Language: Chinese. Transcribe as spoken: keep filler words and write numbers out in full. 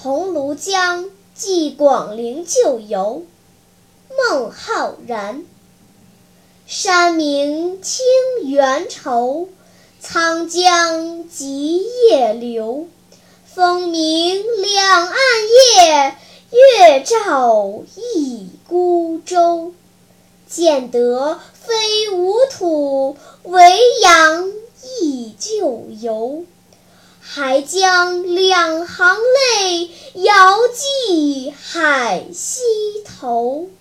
桐庐江寄广陵旧游，孟浩然。山明清源头，沧江急夜流。风鸣两岸月，月照一孤舟。见得非吾土，维扬忆旧游。还将两行泪，遥寄海西头。